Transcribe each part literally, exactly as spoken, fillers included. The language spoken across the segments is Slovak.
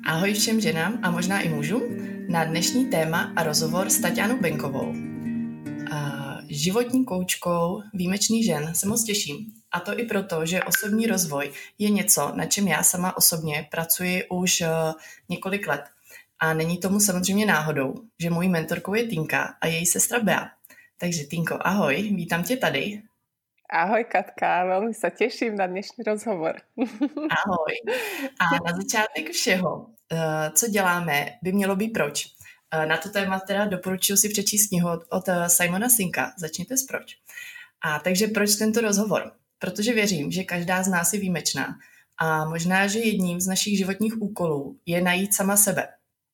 Ahoj všem ženám a možná i mužům na dnešní téma a rozhovor s Taťánou Benkovou. A životní koučkou výjimečných žen se moc těším. A to i proto, že osobní rozvoj je něco, na čem já sama osobně pracuji už uh, několik let. A není tomu samozřejmě náhodou, že mojí mentorkou je Tinka a její sestra Bea. Takže Tinko, ahoj, vítám tě tady. Ahoj Katka, veľmi sa teším na dnešný rozhovor. Ahoj. A na začátek všeho, co děláme, by mělo být proč. Na to téma teda doporučuji si přečíst knihu od Simona Sinka. Začněte s proč. A takže proč tento rozhovor? Protože věřím, že každá z nás je výjimečná a možná, že jedním z našich životních úkolů je najít sama sebe.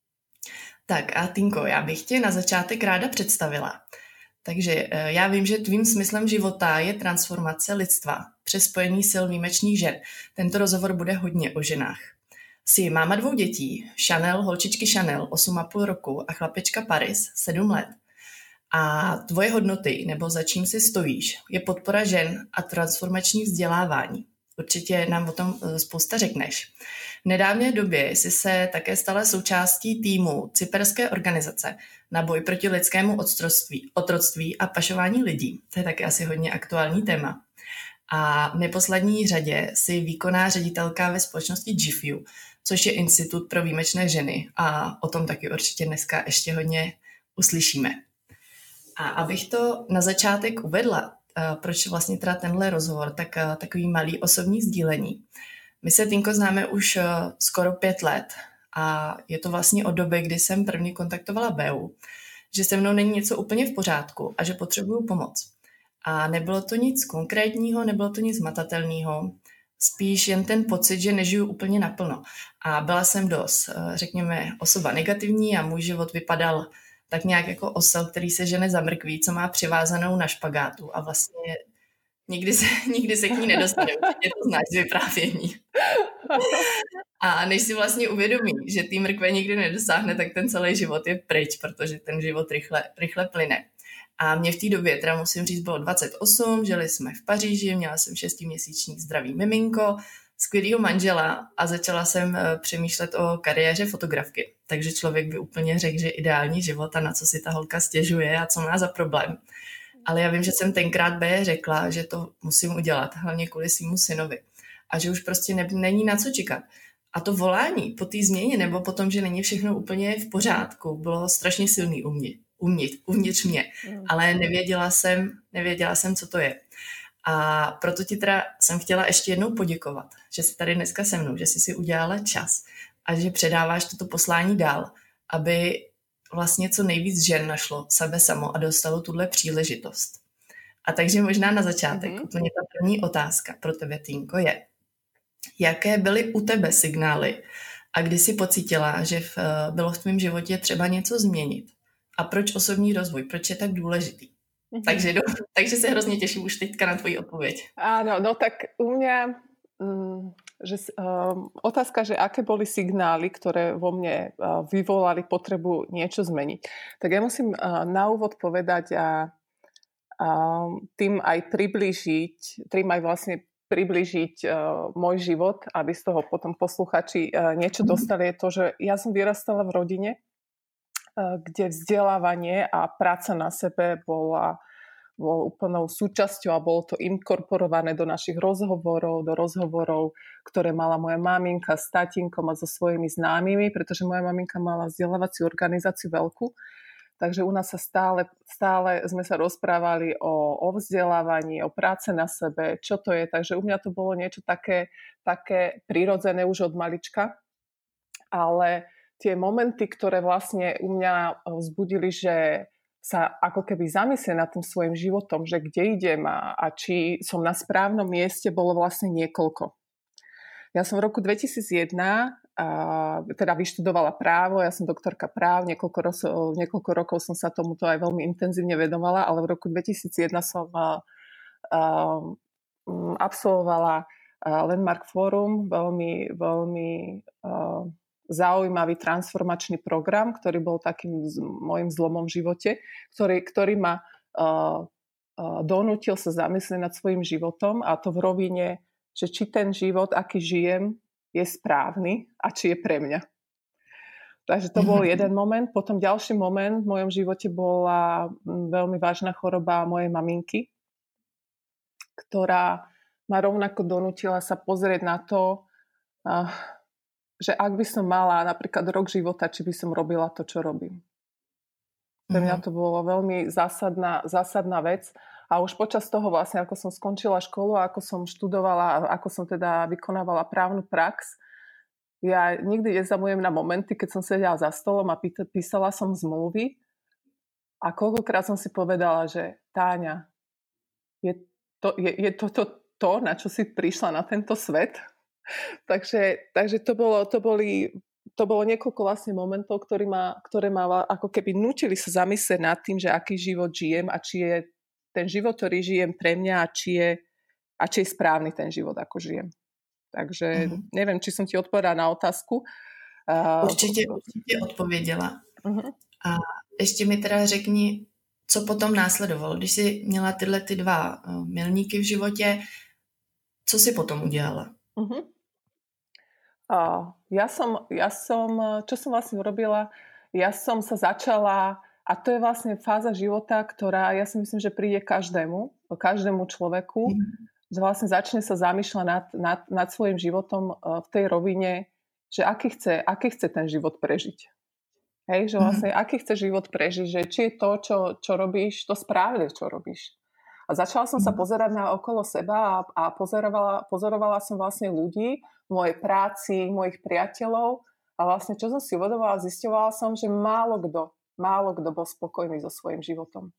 Tak a Tinko, já bych tě na začátek ráda představila. Takže já vím, že tvým smyslem života je transformace lidstva přes spojení sil výjimečných žen. Tento rozhovor bude hodně o ženách. Jsi máma dvou dětí, Chanel, holčičky Chanel, osm a půl roku a chlapečka Paris, sedm let. A tvoje hodnoty, nebo za čím si stojíš, je podpora žen a transformační vzdělávání. Určitě nám o tom spousta řekneš. V nedávné době jsi se také stala součástí týmu cyperské organizace na boj proti lidskému otroctví, otroctví a pašování lidí. To je také asi hodně aktuální téma. A v neposlední řadě jsi výkonná ředitelka ve společnosti G F U, což je Institut pro výjimečné ženy. A o tom taky určitě dneska ještě hodně uslyšíme. A abych to na začátek uvedla, proč vlastně teda tenhle rozhovor, tak takový malý osobní sdílení. My se, Tinko, známe už skoro pět let a je to vlastně od doby, kdy jsem první kontaktovala Beu, že se mnou není něco úplně v pořádku a že potřebuju pomoc. A nebylo to nic konkrétního, nebylo to nic matatelného, spíš jen ten pocit, že nežiju úplně naplno. A byla jsem dost, řekněme, osoba negativní a můj život vypadal tak nějak jako osel, který se žene za mrkví, co má přivázanou na špagátu a vlastně nikdy se, nikdy se k ní nedostane. Určitě to znáš z vyprávění. A než si vlastně uvědomí, že tý mrkve nikdy nedosáhne, tak ten celý život je pryč, protože ten život rychle, rychle plyne. A mě v té době, teda musím říct, bylo dvacet osm, žili jsme v Paříži, měla jsem šestiměsíční zdravý miminko, skvělýho manžela a začala jsem přemýšlet o kariéře fotografky. Takže člověk by úplně řekl, že ideální život a na co si ta holka stěžuje a co má za problém. Ale já vím, že jsem tenkrát B řekla, že to musím udělat, hlavně kvůli svýmu synovi. A že už prostě ne, není na co čekat. A to volání po té změně nebo po tom, že není všechno úplně v pořádku, bylo strašně silný u mě, uvnitř, uvnitř mě. Ale nevěděla jsem, nevěděla jsem, co to je. A proto ti teda jsem chtěla ještě jednou poděkovat, že jsi tady dneska se mnou, že jsi si udělala čas a že předáváš toto poslání dál, aby vlastně co nejvíc žen našlo sebe samo a dostalo tuhle příležitost. A takže možná na začátek, mm-hmm. úplně ta první otázka pro tebe, Týnko, je, jaké byly u tebe signály a kdy jsi pocítila, že v, bylo v tvém životě třeba něco změnit? A proč osobní rozvoj? Proč je tak důležitý? Mm-hmm. Takže, takže se hrozně těším už teďka na tvoji odpověď. Áno, no tak u mňa... Mm... Že, um, otázka, že aké boli signály, ktoré vo mne uh, vyvolali potrebu niečo zmeniť. Tak ja musím uh, na úvod povedať a uh, tým aj priblížiť, tým aj vlastne priblížiť uh, môj život, aby z toho potom posluchači uh, niečo dostali, je to, že ja som vyrastala v rodine, uh, kde vzdelávanie a práca na sebe bola bol úplnou súčasťou a bolo to inkorporované do našich rozhovorov, do rozhovorov, ktoré mala moja maminka s tatínkom a so svojimi známymi, pretože moja maminka mala vzdelávaciu organizáciu veľkú. Takže u nás sa stále, stále sme sa rozprávali o, o vzdelávaní, o práce na sebe, čo to je. Takže u mňa to bolo niečo také, také prirodzené už od malička. Ale tie momenty, ktoré vlastne u mňa vzbudili, že sa ako keby zamyslie nad tým svojim životom, že kde idem a, a či som na správnom mieste, bolo vlastne niekoľko. Ja som v roku dvetisícjeden a, teda vyštudovala právo, ja som doktorka práv, niekoľko, roz, niekoľko rokov som sa tomuto aj veľmi intenzívne vedovala, ale v roku dvetisícjeden som a, a, absolvovala Landmark Forum, veľmi, veľmi a, zaujímavý transformačný program, ktorý bol takým môjim zlomom v živote, ktorý, ktorý ma uh, uh, donútil sa zamyslieť nad svojím životom a to v rovine, že či ten život, aký žijem, je správny a či je pre mňa. Takže to bol jeden moment. Potom ďalší moment v mojom živote bola veľmi vážna choroba mojej maminky, ktorá ma rovnako donútila sa pozrieť na to, že ak by som mala napríklad rok života, či by som robila to, čo robím. Pre mňa to bolo veľmi zásadná, zásadná vec. A už počas toho vlastne, ako som skončila školu, ako som študovala, ako som teda vykonávala právnu prax, ja nikdy nezamujem na momenty, keď som sedela za stolom a písala som zmluvy a koľkokrát som si povedala, že Táňa, je to, je, je to, to to, na čo si prišla na tento svet. takže takže to, bolo, to, boli, to bolo niekoľko vlastne momentov, ktoré ma, ktoré ma ako keby nútili sa zamyslieť nad tým, že aký život žijem a či je ten život, ktorý žijem pre mňa a či je, a či je správny ten život, ako žijem. Takže uh-huh. neviem, či som ti odpovedala na otázku. Určitě, určitě odpověděla. Uh-huh. A ještě mi teda řekni, co potom následovalo, když jsi měla tyhle ty dva milníky v životě, co si potom udělala? Uh-huh. Uh, ja som, ja som, čo som vlastne urobila, ja som sa začala, a to je vlastne fáza života, ktorá, ja si myslím, že príde každému, každému človeku, uh-huh. že vlastne začne sa zamýšľať nad, nad, nad svojím životom v tej rovine, že aký chce, aký chce ten život prežiť. Hej, že vlastne mm-hmm. aký chce život prežiť, že či je to, čo, čo robíš, to správne, čo robíš. A začala som mm-hmm. sa pozerať na okolo seba a, a pozorovala, pozorovala som vlastne ľudí, v mojej práci, mojich priateľov a vlastne čo som si uvedomovala, zisťovala som, že málo kto, málo kto bol spokojný so svojím životom.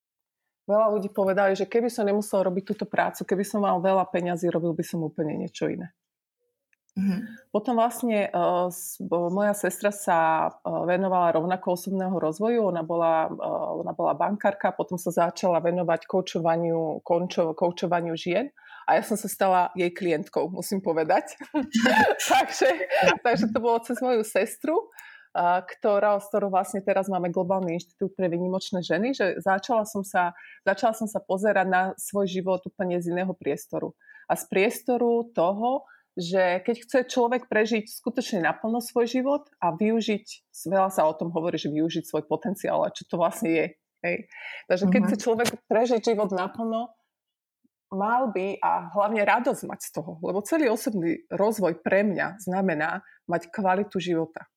Veľa ľudí povedali, že keby som nemusel robiť túto prácu, keby som mal veľa peňazí, robil by som úplne niečo iné. Mm-hmm. Potom vlastne uh, moja sestra sa uh, venovala rovnako osobného rozvoju, ona bola, uh, ona bola bankárka, potom sa začala venovať koučovaniu, končo, koučovaniu žien a ja som sa stala jej klientkou, musím povedať. takže, takže to bolo cez moju sestru, Ktorá, s ktorou vlastne teraz máme Globálny inštitút pre výnimočné ženy, že začala som sa, začala som sa pozerať na svoj život úplne z iného priestoru. A z priestoru toho, že keď chce človek prežiť skutočne naplno svoj život a využiť, veľa sa o tom hovorí, že využiť svoj potenciál, a čo to vlastne je. Hej? Takže keď chce človek prežiť život naplno, mal by a hlavne radosť mať z toho. Lebo celý osobný rozvoj pre mňa znamená mať kvalitu života.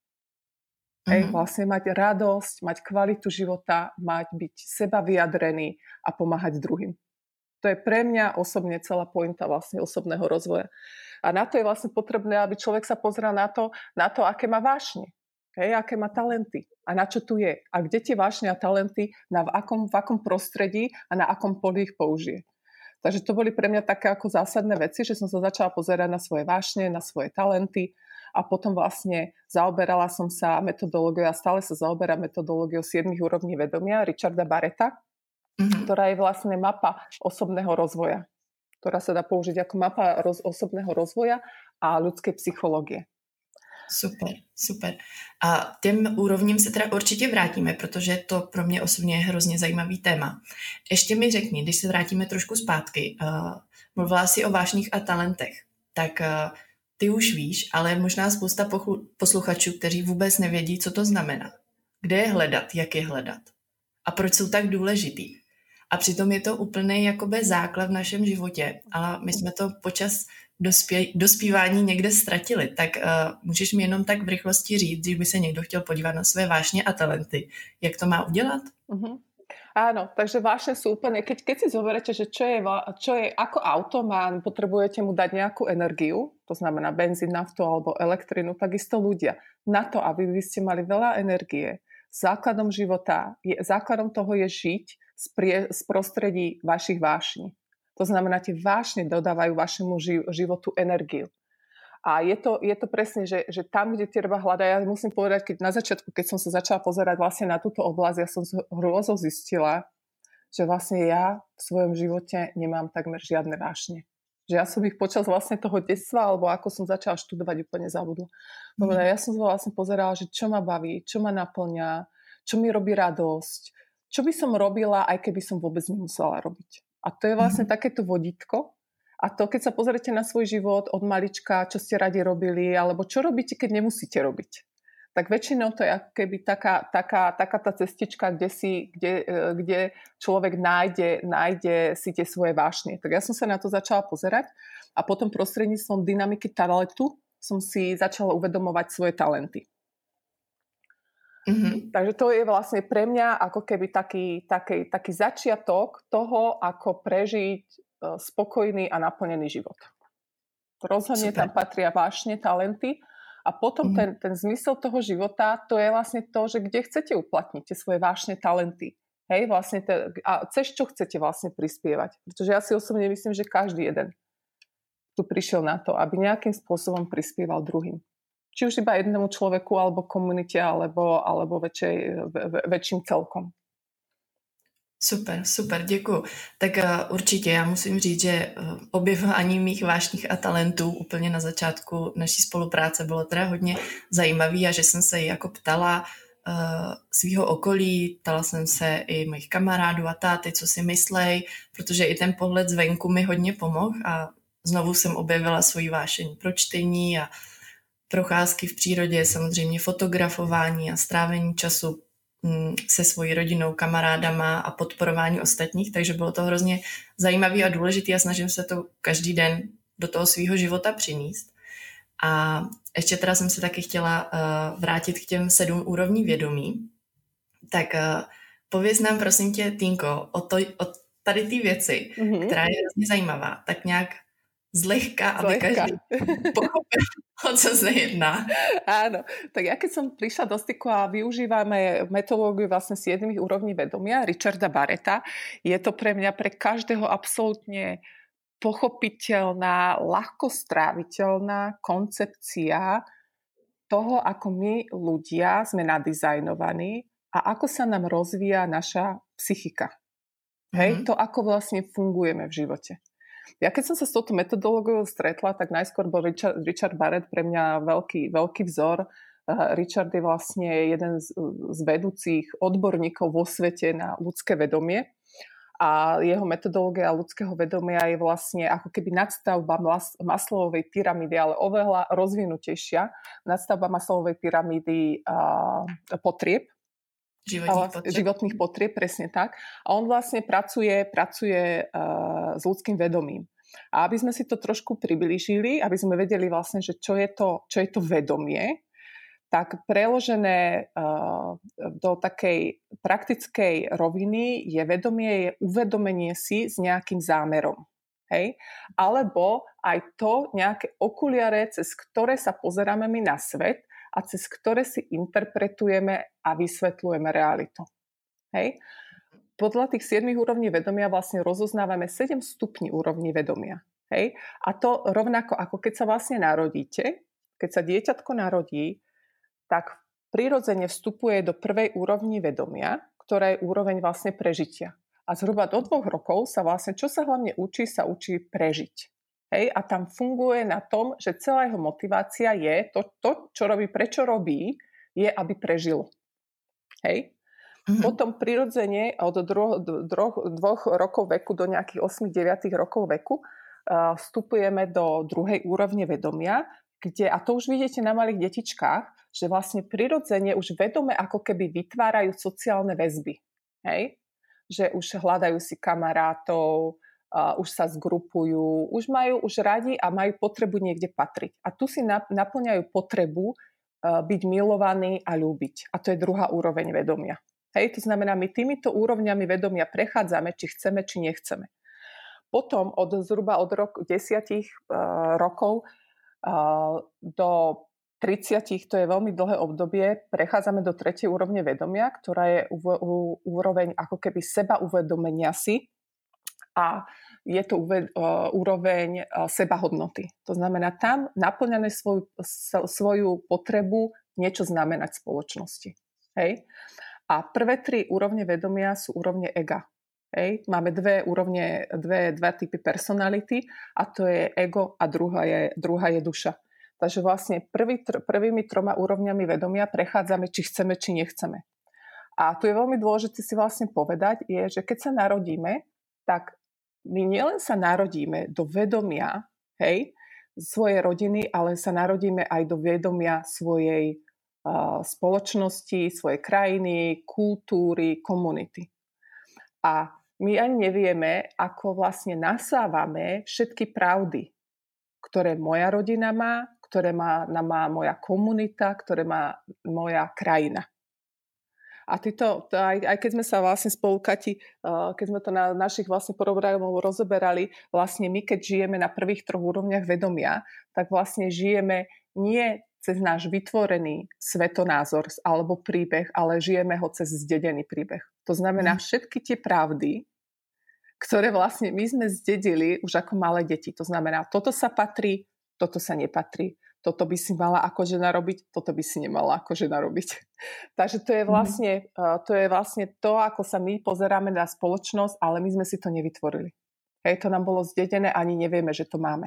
Hej, mm-hmm. vlastne mať radosť, mať kvalitu života, mať byť seba vyjadrený a pomáhať druhým. To je pre mňa osobne celá pointa vlastne osobného rozvoja. A na to je vlastne potrebné, aby človek sa pozrel na to, na to, aké má vášne, hej, aké má talenty a na čo tu je. A kde tie vášne a talenty, na v akom, v akom prostredí a na akom poli ich použije. Takže to boli pre mňa také ako zásadné veci, že som sa začala pozerať na svoje vášne, na svoje talenty a potom vlastne zaoberala som sa metodológiou a stále sa zaoberám metodológiou siedmich úrovní vedomia Richarda Barretta, mm-hmm. ktorá je vlastne mapa osobného rozvoja, ktorá sa dá použiť ako mapa roz, osobného rozvoja a ľudskej psychológie. Super, super. A těm úrovním se teda určitě vrátíme, protože to pro mě osobně je hrozně zajímavý téma. Ještě mi řekni, když se vrátíme trošku zpátky, uh, mluvila jsi o vášních a talentech, tak uh, ty už víš, ale je možná spousta pochlu- posluchačů, kteří vůbec nevědí, co to znamená. Kde je hledat, jak je hledat a proč jsou tak důležitý. A přitom je to úplný jakoby základ v našem životě, ale my jsme to počas dospě- dospívání někde ztratili. Tak uh, můžeš mi jenom tak v rychlosti říct, když by se někdo chtěl podívat na své vášně a talenty, jak to má udělat? Uh-huh. Áno, takže vášne sú úplne, keď, keď si zoberete, že čo je, čo je ako auto, má, potrebujete mu dať nejakú energiu, to znamená benzín, naftu alebo elektrinu, takisto ľudia. Na to, aby vy ste mali veľa energie, základom života, je, základom toho je žiť z, prie, z prostredí vašich vášní. To znamená, tie vášne dodávajú vašemu ži- životu energiu. A je to, je to presne, že, že tam, kde treba hľadať, ja musím povedať, keď na začiatku, keď som sa začala pozerať vlastne na túto oblasť, ja som hrôzo zistila, že vlastne ja v svojom živote nemám takmer žiadne vášne. Že ja som ich počas vlastne toho detstva, alebo ako som začala študovať, úplne zabudla. Mm. Ja som vlastne pozerala, že čo ma baví, čo ma naplňa, čo mi robí radosť, čo by som robila, aj keby som vôbec nemusela robiť. A to je vlastne mm. takéto vodítko. A to, keď sa pozriete na svoj život od malička, čo ste radi robili, alebo čo robíte, keď nemusíte robiť. tak väčšinou to je ako keby taká, taká, taká tá cestička, kde, si, kde, kde človek nájde, nájde si tie svoje vášne. Tak ja som sa na to začala pozerať a potom prostredníctvom dynamiky talentu som si začala uvedomovať svoje talenty. Mm-hmm. Takže to je vlastne pre mňa ako keby taký, taký, taký začiatok toho, ako prežiť spokojný a naplnený život. Rozhodne Super. Tam patria vášne, talenty a potom mm. ten, ten zmysel toho života, to je vlastne to, že kde chcete uplatniť tie svoje vášne, talenty. Hej, vlastne te, a cez čo chcete vlastne prispievať. Pretože ja si osobne myslím, že každý jeden tu prišiel na to, aby nejakým spôsobom prispieval druhým. Či už iba jednému človeku, alebo komunite, alebo, alebo väčšej, väčším celkom. Super, super, děkuju. Tak uh, určitě já musím říct, že uh, objevování mých vášních a talentů úplně na začátku naší spolupráce bylo teda hodně zajímavý a že jsem se jako ptala uh, svýho okolí, ptala jsem se i mojich kamarádů a táty, co si myslej, protože i ten pohled zvenku mi hodně pomohl a znovu jsem objevila svoji vášeň pro čtení a procházky v přírodě, samozřejmě fotografování a strávení času se svojí rodinou, kamarádama a podporování ostatních, takže bylo to hrozně zajímavý a důležitý a snažím se to každý den do toho svýho života přinést. A ještě teda jsem se taky chtěla uh, vrátit k těm sedm úrovní vědomí. Tak uh, pověz nám prosím tě, Týnko, o, to, o tady ty věci, mm-hmm. která je hrozně zajímavá, tak nějak zlehka, aby zlehka. Každý pochopil, o co sa jedná. Áno, tak ja keď som prišla do styku a využívame metodológiu vlastne siedmich úrovní vedomia Richarda Barretta, je to pre mňa pre každého absolútne pochopiteľná, ľahko stráviteľná koncepcia toho, ako my ľudia sme nadizajnovaní a ako sa nám rozvíja naša psychika. Hej, mm-hmm. to ako vlastne fungujeme v živote. Ja keď som sa s touto metodológiou stretla, tak najskôr bol Richard, Richard Barrett pre mňa veľký, veľký vzor. Uh, Richard je vlastne jeden z, z vedúcich odborníkov vo svete na ľudské vedomie a jeho metodológia ľudského vedomia je vlastne ako keby nadstavba Maslowovej pyramídy, ale oveľa rozvinutejšia nadstavba Maslowovej pyramídy uh, potrieb. Životných potrieb. životných potrieb, presne tak. A on vlastne pracuje, pracuje uh, s ľudským vedomím. A aby sme si to trošku priblížili, aby sme vedeli vlastne, že čo je to, čo je to vedomie, tak preložené uh, do takej praktickej roviny je vedomie, je uvedomenie si s nejakým zámerom. Hej? Alebo aj to nejaké okuliare, cez ktoré sa pozeráme my na svet, a cez ktoré si interpretujeme a vysvetľujeme realitu. Hej? Podľa tých siedmich úrovní vedomia vlastne rozoznávame sedem stupní úrovní vedomia. Hej? A to rovnako ako keď sa vlastne narodíte, keď sa dieťatko narodí, tak prirodzene vstupuje do prvej úrovni vedomia, ktorá je úroveň vlastne prežitia. A zhruba do dvoch rokov sa vlastne, čo sa hlavne učí, sa učí prežiť. Hej, a tam funguje na tom, že celá jeho motivácia je, to, to čo robí, prečo robí, je, aby prežil. Hej. Mm-hmm. Potom prirodzene od dro, dro, dvoch rokov veku do nejakých osem deväť rokov veku uh, vstupujeme do druhej úrovne vedomia, kde, a to už vidíte na malých detičkách, že vlastne prirodzene už vedome ako keby vytvárajú sociálne väzby. Hej. Že už hľadajú si kamarátov, Uh, už sa zgrupujú, už majú už radi a majú potrebu niekde patriť. A tu si nap- naplňajú potrebu uh, byť milovaný a ľúbiť. A to je druhá úroveň vedomia. Hej, to znamená, my týmito úrovňami vedomia prechádzame, či chceme, či nechceme. Potom od zhruba od roku desiatich uh, rokov uh, do tridsiatich, to je veľmi dlhé obdobie, prechádzame do tretej úrovne vedomia, ktorá je u- u- úroveň ako keby seba uvedomenia si, a je to uved, uh, úroveň uh, sebahodnoty. To znamená, tam naplňame svoju, svoju potrebu niečo znamenať v spoločnosti. Hej? A prvé tri úrovne vedomia sú úrovne ega. Hej? Máme dve úrovne, dve, dva typy personality a to je ego a druhá je, druhá je duša. Takže vlastne prvý, tr, prvými troma úrovňami vedomia prechádzame, či chceme, či nechceme. A tu je veľmi dôležité si vlastne povedať, je, že keď sa narodíme, tak my nielen sa narodíme do vedomia, hej, svojej rodiny, ale sa narodíme aj do vedomia svojej spoločnosti, svojej krajiny, kultúry, komunity. A my ani nevieme, ako vlastne nasávame všetky pravdy, ktoré moja rodina má, ktoré má, má moja komunita, ktoré má moja krajina. A títo, aj, aj keď sme sa vlastne spolu, Kati, keď sme to na našich vlastne programov rozoberali, vlastne my, keď žijeme na prvých troch úrovniach vedomia, tak vlastne žijeme nie cez náš vytvorený svetonázor alebo príbeh, ale žijeme ho cez zdedený príbeh. To znamená všetky tie pravdy, ktoré vlastne my sme zdedili už ako malé deti. To znamená, toto sa patrí, toto sa nepatrí. Toto by si mala ako žena robiť, toto by si nemala ako žena robiť. Takže to je vlastne, mm. to je vlastne to, ako sa my pozeráme na spoločnosť, ale my sme si to nevytvorili. Hej, to nám bolo zdedené, ani nevieme, že to máme.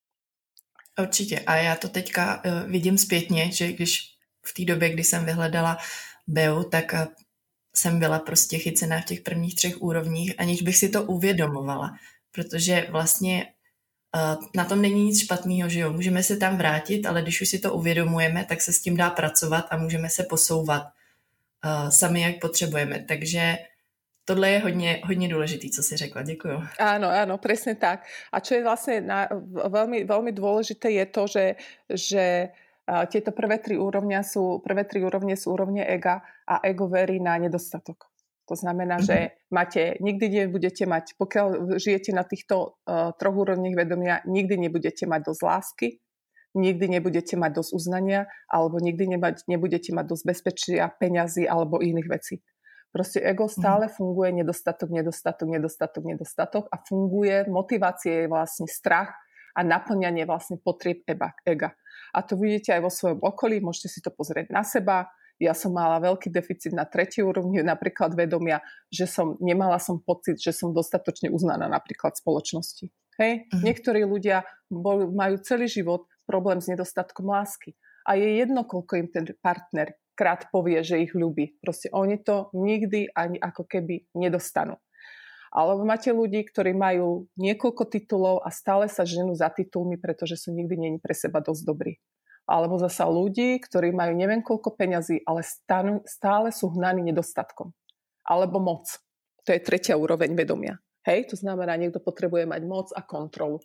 Určitě. A já to teďka uh, vidím zpětně, že když v té době, kdy jsem vyhledala bé e u, tak uh, jsem byla prostě chycená v těch prvních třech úrovních, aniž bych si to uvědomovala. Protože vlastně Uh, na tom není nic špatného, že jo, můžeme se tam vrátit, ale když už si to uvědomujeme, tak se s tím dá pracovat a můžeme se posouvat uh, sami, jak potřebujeme. Takže tohle je hodně, hodně důležitý, co si řekla. Děkuju. Áno, áno, presne tak. A čo je vlastne na, veľmi, veľmi dôležité je to, že, že uh, tieto prvé tri úrovne sú, prvé tri úrovne sú úrovne ega a ego verí na nedostatok. To znamená, mm-hmm. že máte, nikdy nebudete mať, pokiaľ žijete na týchto uh, troch úrovniach vedomia, nikdy nebudete mať dosť lásky, nikdy nebudete mať dosť uznania, alebo nikdy nebať, nebudete mať dosť bezpečia, peňazí alebo iných vecí. Proste ego stále mm-hmm. funguje nedostatok, nedostatok, nedostatok, nedostatok a funguje, motivácie je vlastne strach a naplňanie vlastne potrieb ega. A to vidíte aj vo svojom okolí, môžete si to pozrieť na seba. Ja som mala veľký deficit na tretej úrovni napríklad vedomia, že som, nemala som pocit, že som dostatočne uznaná napríklad v spoločnosti. Hej? Uh-huh. Niektorí ľudia bol, majú celý život problém s nedostatkom lásky. A je jedno, koľko im ten partner krát povie, že ich ľúbi. Proste oni to nikdy ani ako keby nedostanú. Alebo máte ľudí, ktorí majú niekoľko titulov a stále sa ženú za titulmi, pretože sú nikdy nie pre seba dosť dobrí. Alebo zasa ľudí, ktorí majú neviem koľko peňazí, ale stále, stále sú hnaní nedostatkom. Alebo moc. To je tretia úroveň vedomia. Hej? To znamená, niekto potrebuje mať moc a kontrolu.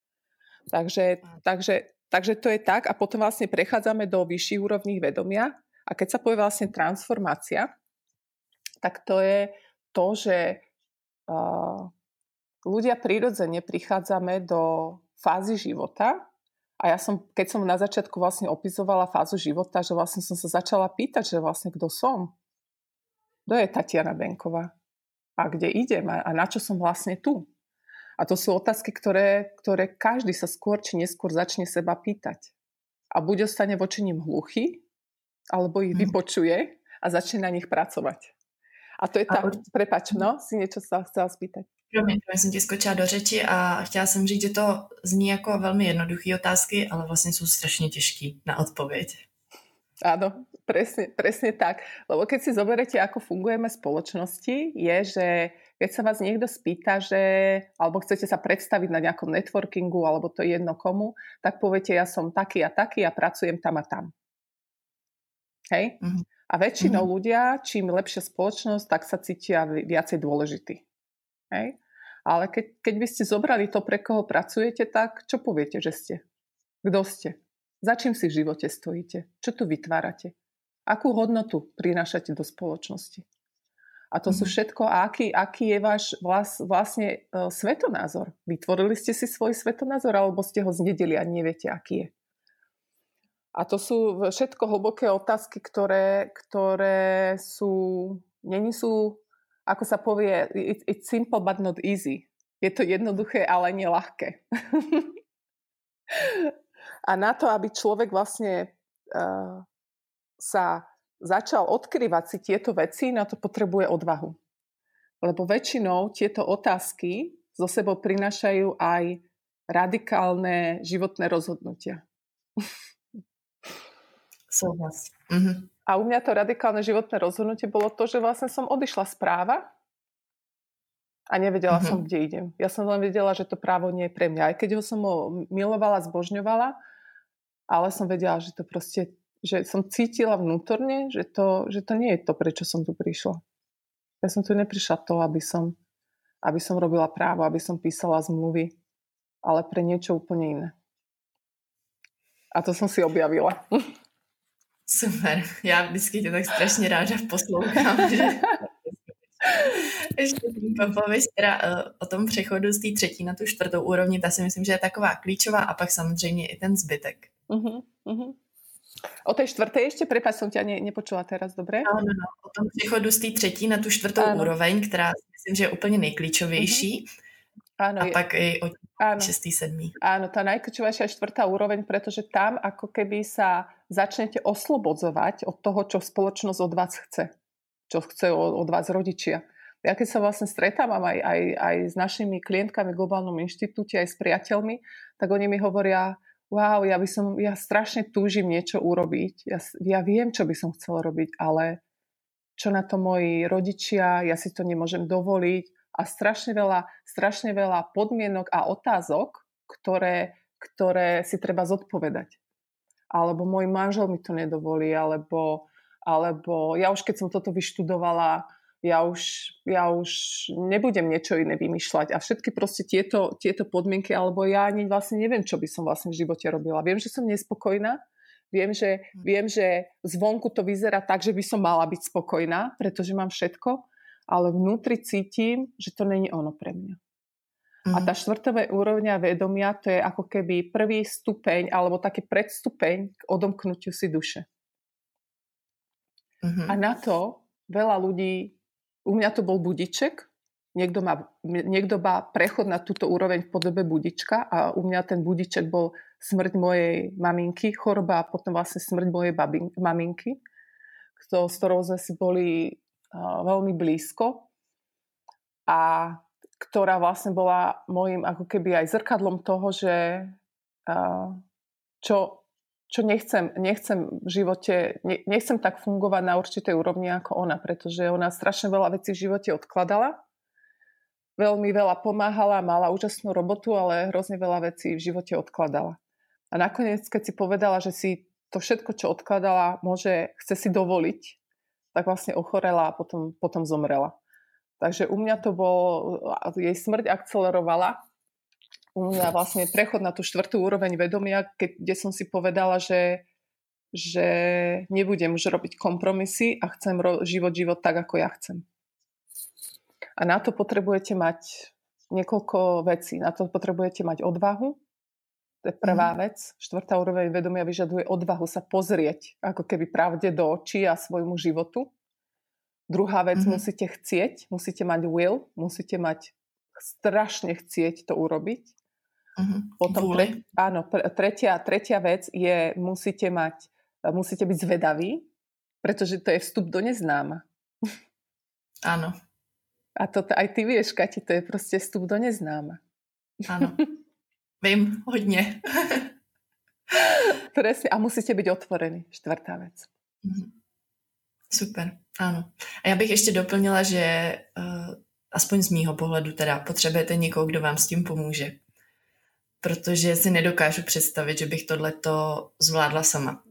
Takže, takže, takže to je tak. A potom vlastne prechádzame do vyšších úrovní vedomia. A keď sa povie vlastne transformácia, tak to je to, že uh, ľudia prirodzene prichádzame do fázy života. A ja som, keď som na začiatku vlastne opisovala fázu života, že vlastne som sa začala pýtať, že vlastne kto som? Kto je Tatiana Benková? A kde idem? A na čo som vlastne tu? A to sú otázky, ktoré, ktoré každý sa skôr či neskôr začne seba pýtať. A buď ostane voči nim hluchý, alebo ich vypočuje a začne na nich pracovať. A to je tam, od... prepač, no, si niečo sa chcela spýtať. Promiň, jsem ti skočila do řeči a chtěla jsem říct, že to zní jako velmi jednoduché otázky, ale vlastně jsou strašně těžký na odpověď. Áno, presne, presne tak. Lebo keď si zoberete, ako fungujeme v spoločnosti, je, že keď sa vás niekto spýta, že, alebo chcete sa predstaviť na nejakom networkingu, alebo to je jedno komu, tak poviete, ja som taký a taký a pracujem tam a tam. Hej? Mm-hmm. A väčšinou mm-hmm. ľudia, čím lepšia spoločnosť, tak sa cítia viacej dôležitý. Hej? Ale keď, keď by ste zobrali to, pre koho pracujete, tak čo poviete, že ste? Kto ste? Za čím si v živote stojíte? Čo tu vytvárate? Akú hodnotu prinášate do spoločnosti? A to mm-hmm. sú všetko, a aký, aký je váš vlast, vlastne uh, svetonázor? Vytvorili ste si svoj svetonázor, alebo ste ho znedili a neviete, aký je? A to sú všetko hlboké otázky, ktoré, ktoré sú, není sú, ako sa povie, it, it's simple but not easy. Je to jednoduché, ale nie ľahké. A na to, aby človek vlastne uh, sa začal odkrývať si tieto veci, na to potrebuje odvahu. Lebo väčšinou tieto otázky zo sebou prinášajú aj radikálne životné rozhodnutia. Súhlas. Mhm. A u mňa to radikálne životné rozhodnutie bolo to, že vlastne som odišla z práva a nevedela mm-hmm. som, kde idem. Ja som len vedela, že to právo nie je pre mňa. Aj keď ho som ho milovala, zbožňovala, ale som vedela, že to proste že som cítila vnútorne, že to, že to nie je to, prečo som tu prišla. Ja som tu neprišla to, aby som, aby som robila právo, aby som písala zmluvy, ale pre niečo úplne iné. A to som si objavila. Super. Já vždycky tě tak strašně ráda poslouchám, že... Ještě pověď teda o tom přechodu z té třetí na tu čtvrtou úrovni, ta si myslím, že je taková klíčová a pak samozřejmě i ten zbytek. Uh-huh, uh-huh. O tej štvrtej ešte, prepáč, som ťa ne, nepočula teraz, dobre? No, no, no. O tom přechodu z té třetí na tu čtvrtou ano. úroveň, která si myslím, že je úplně nejklíčovější. Uh-huh. Áno, a je... pak i o šestý, sedmý. Áno, tá najklíčovejšia je štvrtá úroveň, pretože tam ako keby sa začnete oslobodzovať od toho, čo spoločnosť od vás chce. Čo chce od, od vás rodičia. Ja keď sa vlastne stretávam aj, aj, aj s našimi klientkami v Globálnom inštitúte, aj s priateľmi, tak oni mi hovoria, wow, ja by som, ja strašne túžim niečo urobiť. Ja, ja viem, čo by som chcela robiť, ale čo na to moji rodičia, ja si to nemôžem dovoliť. A strašne veľa, strašne veľa podmienok a otázok, ktoré, ktoré si treba zodpovedať. Alebo môj manžel mi to nedovolí, alebo, alebo ja už keď som toto vyštudovala, ja už, ja už nebudem niečo iné vymýšľať. A všetky proste tieto, tieto podmienky, alebo ja ani vlastne neviem, čo by som vlastne v živote robila. Viem, že som nespokojná, viem, že, viem, že zvonku to vyzerá tak, že by som mala byť spokojná, pretože mám všetko, ale vnútri cítim, že to není ono pre mňa. Mm. A tá štvrtá úrovňa vedomia, to je ako keby prvý stupeň, alebo taký predstupeň k odomknutiu si duše. Mm-hmm. A na to veľa ľudí, u mňa to bol budiček, niekto má, niekto má prechod na túto úroveň v podobe budička a u mňa ten budiček bol smrť mojej maminky, choroba a potom vlastne smrť mojej babin, maminky, s ktorou sme si boli veľmi blízko a ktorá vlastne bola môjim ako keby aj zrkadlom toho, že čo, čo nechcem, nechcem v živote, nechcem tak fungovať na určitej úrovni ako ona, pretože ona strašne veľa vecí v živote odkladala, veľmi veľa pomáhala, mala úžasnú robotu, ale hrozne veľa vecí v živote odkladala. A nakoniec, keď si povedala, že si to všetko, čo odkladala, môže, chce si dovoliť, tak vlastne ochorela a potom, potom zomrela. Takže u mňa to bol, jej smrť akcelerovala. U mňa vlastne prechod na tú štvrtú úroveň vedomia, keď, kde som si povedala, že, že nebudem už robiť kompromisy a chcem ro- život, život tak, ako ja chcem. A na to potrebujete mať niekoľko vecí. Na to potrebujete mať odvahu. To je prvá mm. vec. Štvrtá úroveň vedomia vyžaduje odvahu sa pozrieť ako keby pravde do očí a svojmu životu. Druhá vec, mm-hmm. musíte chcieť, musíte mať will, musíte mať strašne chcieť to urobiť. Mm-hmm. Potom tre, áno, tretia, tretia vec je, musíte mať, musíte byť zvedaví, pretože to je vstup do neznáma. Áno. A to aj ty vieš, Kati, to je proste vstup do neznáma. Áno. Vím, hodně. Presne, a musíte byť otvorení. Štvrtá vec. Super, ano. A já bych ještě doplnila, že uh, aspoň z mýho pohledu teda potřebujete někoho, kdo vám s tím pomůže. Protože si nedokážu představit, že bych tohleto zvládla sama.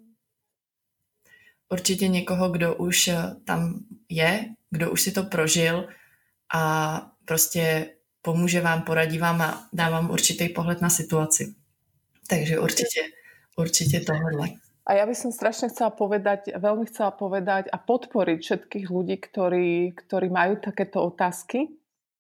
Určitě někoho, kdo už tam je, kdo už si to prožil a prostě pomůže vám, poradí vám a dá vám určitý pohled na situaci. Takže určite, určite tohle. A ja by som strašne chcela povedať, veľmi chcela povedať a podporiť všetkých ľudí, ktorí, ktorí majú takéto otázky,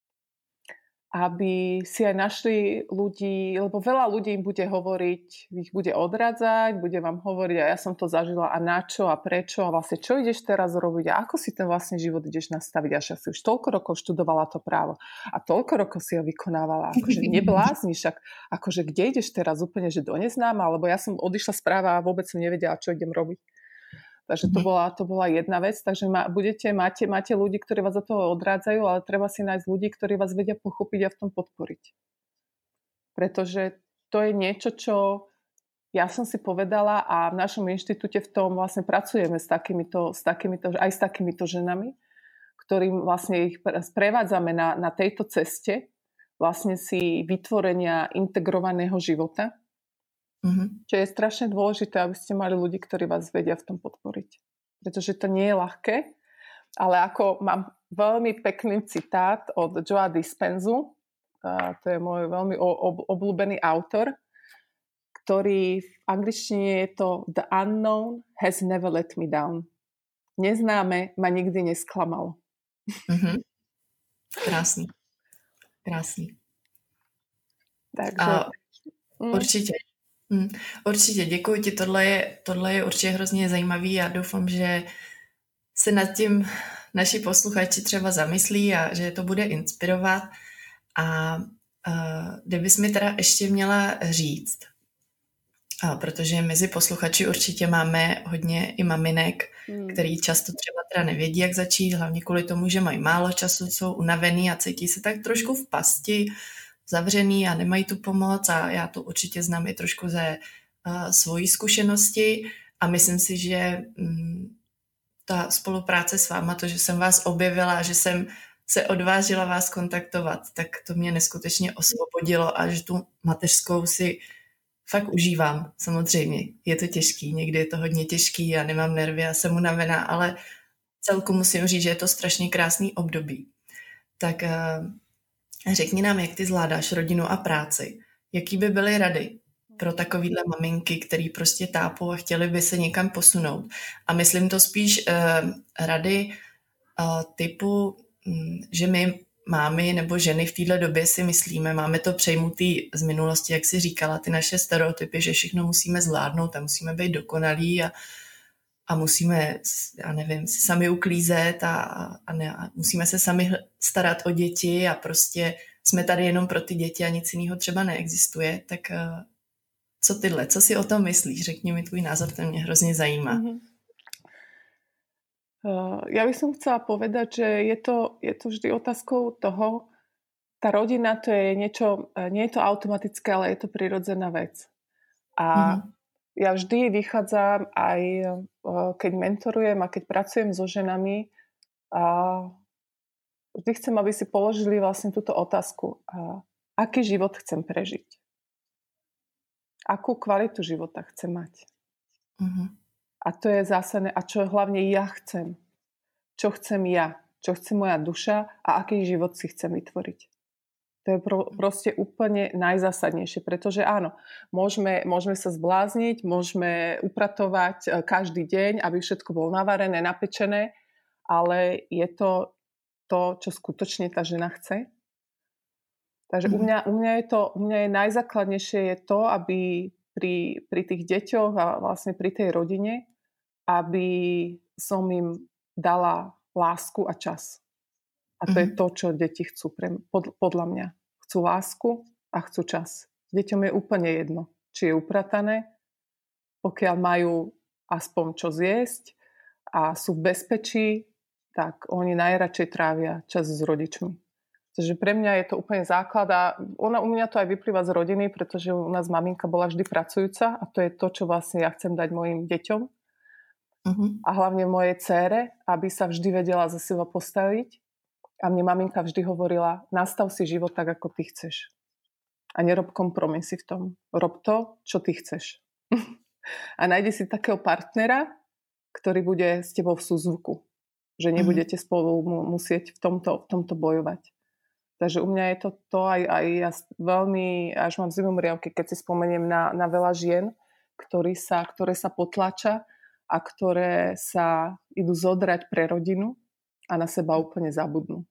aby si aj našli ľudí, lebo veľa ľudí im bude hovoriť, ich bude odrádzať, bude vám hovoriť a ja som to zažila a na čo a prečo a vlastne čo ideš teraz robiť a ako si ten vlastne život ideš nastaviť, až si už toľko rokov študovala to právo a toľko rokov si ho vykonávala, akože neblázniš, akože kde ideš teraz úplne, že do neznáma, alebo ja som odišla z práva a vôbec som nevedela, čo idem robiť. Takže to bola, to bola jedna vec. Takže ma, budete, máte, máte ľudí, ktorí vás za toho odrádzajú, ale treba si nájsť ľudí, ktorí vás vedia pochopiť a v tom podporiť. Pretože to je niečo, čo ja som si povedala a v našom inštitúte v tom vlastne pracujeme s takýmito, s takýmito, aj s takýmito ženami, ktorým vlastne ich sprevádzame na, na tejto ceste vlastne si vytvorenia integrovaného života. Mm-hmm. Čo je strašne dôležité, aby ste mali ľudí, ktorí vás vedia v tom podporiť. Pretože to nie je ľahké, ale ako mám veľmi pekný citát od Joea Dispenzu, a to je môj veľmi ob- obľúbený autor, ktorý v angličtine je to The unknown has never let me down. Neznáme ma nikdy nesklamalo. Mm-hmm. Krásný. Krásný. Takže... A mm. určitě. Mm, určitě, děkuji ti. Tohle je, tohle je určitě hrozně zajímavý. Já doufám, že se nad tím naši posluchači třeba zamyslí a že to bude inspirovat. A uh, kdybys mi teda ještě měla říct, a protože mezi posluchači určitě máme hodně i maminek, hmm. který často třeba teda nevědí, jak začít, hlavně kvůli tomu, že mají málo času, jsou unavený a cítí se tak trošku v pasti, zavřený a nemají tu pomoc a já to určitě znám i trošku ze uh, svojí zkušenosti a myslím si, že um, ta spolupráce s váma, to, že jsem vás objevila, že jsem se odvážila vás kontaktovat, tak to mě neskutečně osvobodilo a že tu mateřskou si fakt užívám, samozřejmě. Je to těžký, někdy je to hodně těžký, já nemám nervy, já jsem unavená, ale celku musím říct, že je to strašně krásný období. Tak uh, řekni nám, jak ty zvládáš rodinu a práci. Jaký by byly rady pro takovýhle maminky, který prostě tápou a chtěli by se někam posunout. A myslím to spíš uh, rady uh, typu, um, že my mámy nebo ženy v této době si myslíme, máme to přejmutý z minulosti, jak si říkala, ty naše stereotypy, že všechno musíme zvládnout a musíme být dokonalí a, a musíme, já nevím, si sami uklízet a, a, ne, a musíme se sami starat o děti a prostě jsme tady jenom pro ty děti a nic jiného třeba neexistuje. Tak uh, co tyhle, co si o tom myslíš? Řekni mi tvůj názor, ten mě hrozně zajímá. Mm-hmm. Uh, ja by som chcela povedať, že je to, je to vždy otázkou toho, tá rodina to je niečo, nie je to automatické, ale je to prirodzená vec. A mm-hmm. ja vždy vychádzam aj, uh, keď mentorujem a keď pracujem so ženami, a vždy chcem, aby si položili vlastne túto otázku. Uh, aký život chcem prežiť? Akú kvalitu života chcem mať? Mm-hmm. A to je zásadné. A čo hlavne ja chcem? Čo chcem ja? Čo chce moja duša? A aký život si chcem vytvoriť? To je pro, proste úplne najzásadnejšie. Pretože áno, môžeme, môžeme sa zblázniť, môžeme upratovať každý deň, aby všetko bolo navarené, napečené, ale je to to, čo skutočne tá žena chce. Takže mm. u, mňa, u, mňa je to, u mňa je najzákladnejšie je to, aby Pri, pri tých deťoch a vlastne pri tej rodine, aby som im dala lásku a čas. A to mm-hmm. je to, čo deti chcú pre, pod, podľa mňa. Chcú lásku a chcú čas. Deťom je úplne jedno, či je upratané, pokiaľ majú aspoň čo zjesť a sú v bezpečí, tak oni najradšej trávia čas s rodičmi. Takže pre mňa je to úplne základ a ona, u mňa to aj vyplýva z rodiny, pretože u nás maminka bola vždy pracujúca a to je to, čo vlastne ja chcem dať mojim deťom uh-huh. a hlavne mojej dcére, aby sa vždy vedela za seba postaviť a mne maminka vždy hovorila, nastav si život tak, ako ty chceš a nerob kompromisy v tom. Rob to, čo ty chceš. A nájdi si takého partnera, ktorý bude s tebou v súzvuku, že nebudete uh-huh. spolu musieť v tomto, v tomto bojovať. Takže u mňa je to to aj, aj ja veľmi, až mám zimomriavky, keď si spomeniem na, na veľa žien, ktorý sa, ktoré sa potlača a ktoré sa idú zodrať pre rodinu a na seba úplne zabudnú.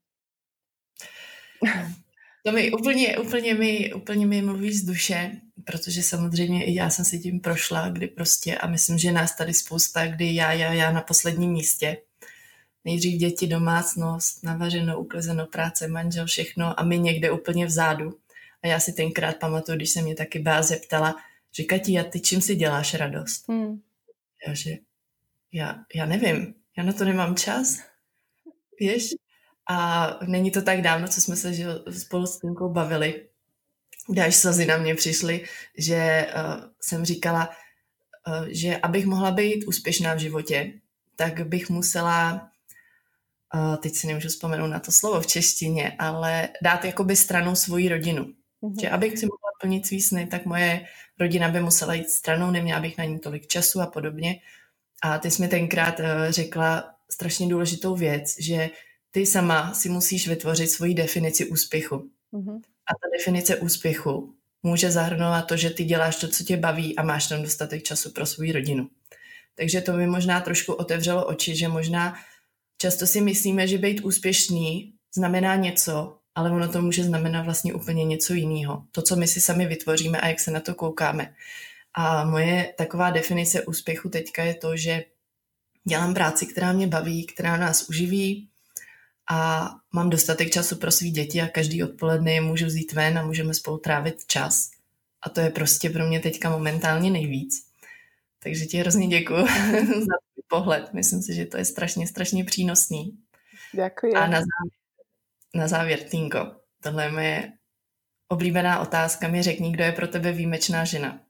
To mi úplně, úplně, mi, úplně mi mluví z duše, protože samozřejmě i já jsem si tím prošla, kdy prostě, a myslím, že nás tady spousta, kdy já, já, já na posledním místě. Nejdřív děti, domácnost, navařeno, uklizeno, práce, manžel, všechno a my někde úplně vzadu. A já si tenkrát pamatuju, když se mě taky bá zeptala, že Kati, a ty čím si děláš radost? Hmm. Já, že já, já nevím, já na to nemám čas, víš? A není to tak dávno, co jsme se že, spolu s Tinkou bavili, kde až slzy na mě přišly, že uh, jsem říkala, uh, že abych mohla být úspěšná v životě, tak bych musela Uh, teď si nemůžu vzpomenout na to slovo v češtině, ale dát jakoby stranou svoji rodinu. Mm-hmm. Že abych si mohla plnit svý sny, tak moje rodina by musela jít stranou, neměla bych na ní tolik času a podobně. A ty jsi mi tenkrát řekla strašně důležitou věc, že ty sama si musíš vytvořit svoji definici úspěchu. Mm-hmm. A ta definice úspěchu může zahrnovat to, že ty děláš to, co tě baví a máš tam dostatek času pro svou rodinu. Takže to mi možná trošku otevřelo oči, že možná často si myslíme, že být úspěšný znamená něco, ale ono to může znamenat vlastně úplně něco jiného. To, co my si sami vytvoříme a jak se na to koukáme. A moje taková definice úspěchu teďka je to, že dělám práci, která mě baví, která nás uživí a mám dostatek času pro svý děti a každý odpoledne je můžu vzít ven a můžeme spolu trávit čas. A to je prostě pro mě teďka momentálně nejvíc. Takže ti hrozně děkuju za tvůj pohled. Myslím si, že to je strašně, strašně přínosný. Děkuji. A na závěr, na závěr, Tinko, tohle je moje oblíbená otázka. Mi řekni, kdo je pro tebe výjimečná žena.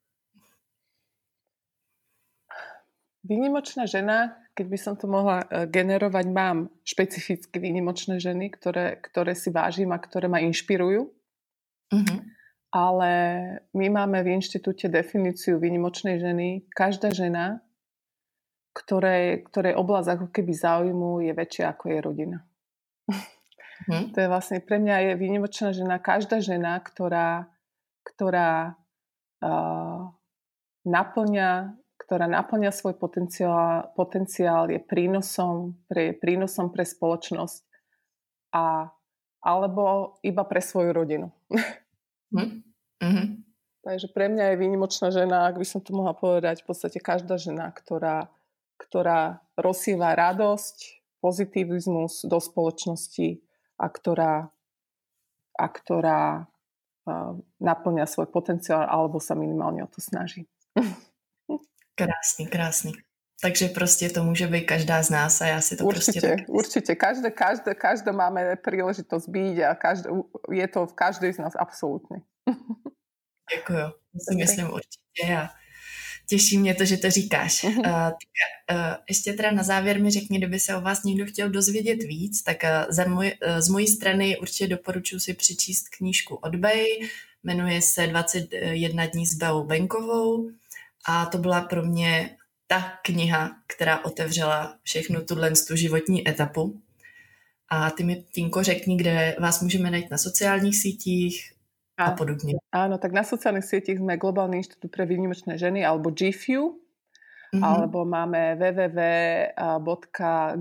Výnimočná žena, keď by som to mohla generovať, mám špecificky výnimočné ženy, ktoré, ktoré si vážim a ktoré ma inšpirujú. Mm-hmm. Ale my máme v inštitúte definíciu výnimočnej ženy. Každá žena, ktorej, ktorej oblasť ako keby záujmu je väčšia ako je rodina. Mm-hmm. To je vlastne pre mňa je výnimočná žena každá žena, ktorá, ktorá uh, naplňa ktorá naplňa svoj potenciál, potenciál je prínosom pre, prínosom pre spoločnosť a, alebo iba pre svoju rodinu. Mm-hmm. Takže pre mňa je výnimočná žena, ak by som to mohla povedať, v podstate každá žena, ktorá, ktorá rozsýva radosť, pozitivizmus do spoločnosti a ktorá, a ktorá uh, naplňa svoj potenciál alebo sa minimálne o to snaží. Krásný, krásný. Takže prostě to může být každá z nás a já si to určite, prostě tak... Určite, každé, každé, každé máme príležitosť byť a každé, je to v každej z nás absolútne. Děkuju, to si myslím určitě a těší mě to, že to říkáš. Uh, tak, uh, ještě teda na závěr mi řekni, kdyby se o vás někdo chtěl dozvědět víc, tak uh, za můj, uh, z mojí strany určitě doporučuji si přečíst knížku od Bey, jmenuje se dvacet jedna dní s Beou Benkovou. A to byla pro mě ta kniha, která otevřela všechnu tuhle tu životní etapu. A ty mi, Tinko, řekni, kde vás můžeme najít na sociálních sítích a, a podobně. Áno, tak na sociálnych sietích sme Globálny inštitút pre výnimočné ženy alebo G F U, mm-hmm. alebo máme w w w bodka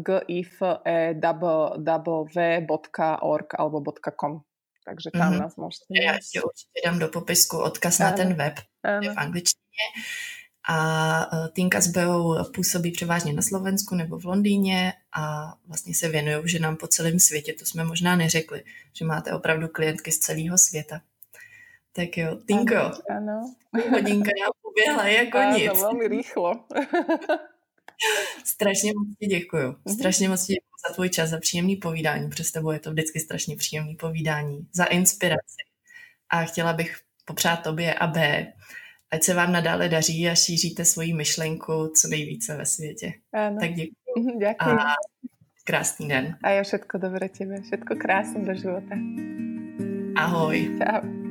gifew bodka org alebo .com. Takže tam mm-hmm. nás môžete nájsť. Ja ti určite dám do popisku odkaz áno. na ten web v angličtině. A Tinka s Beou působí převážně na Slovensku nebo v Londýně a vlastně se věnují ženám po celém světě. To jsme možná neřekli, že máte opravdu klientky z celého světa. Tak jo, Tinko, ano, ano. hodinka nám poběhla jako ano, nic. Áno, veľmi rýchlo. Strašně moc ti děkuju. Strašně moc ti děkuju za tvůj čas, za příjemný povídání. Přes tebou je to vždycky strašně příjemný povídání. Za inspiraci. A chtěla bych popřát tobě a B, ať se vám nadále daří a šíříte svoji myšlenku co nejvíce ve světě. Áno. Tak děkuji. Ďakujem. A krásný den. A ja všetko dobré tebe. Všetko krásne do života. Ahoj. Čau.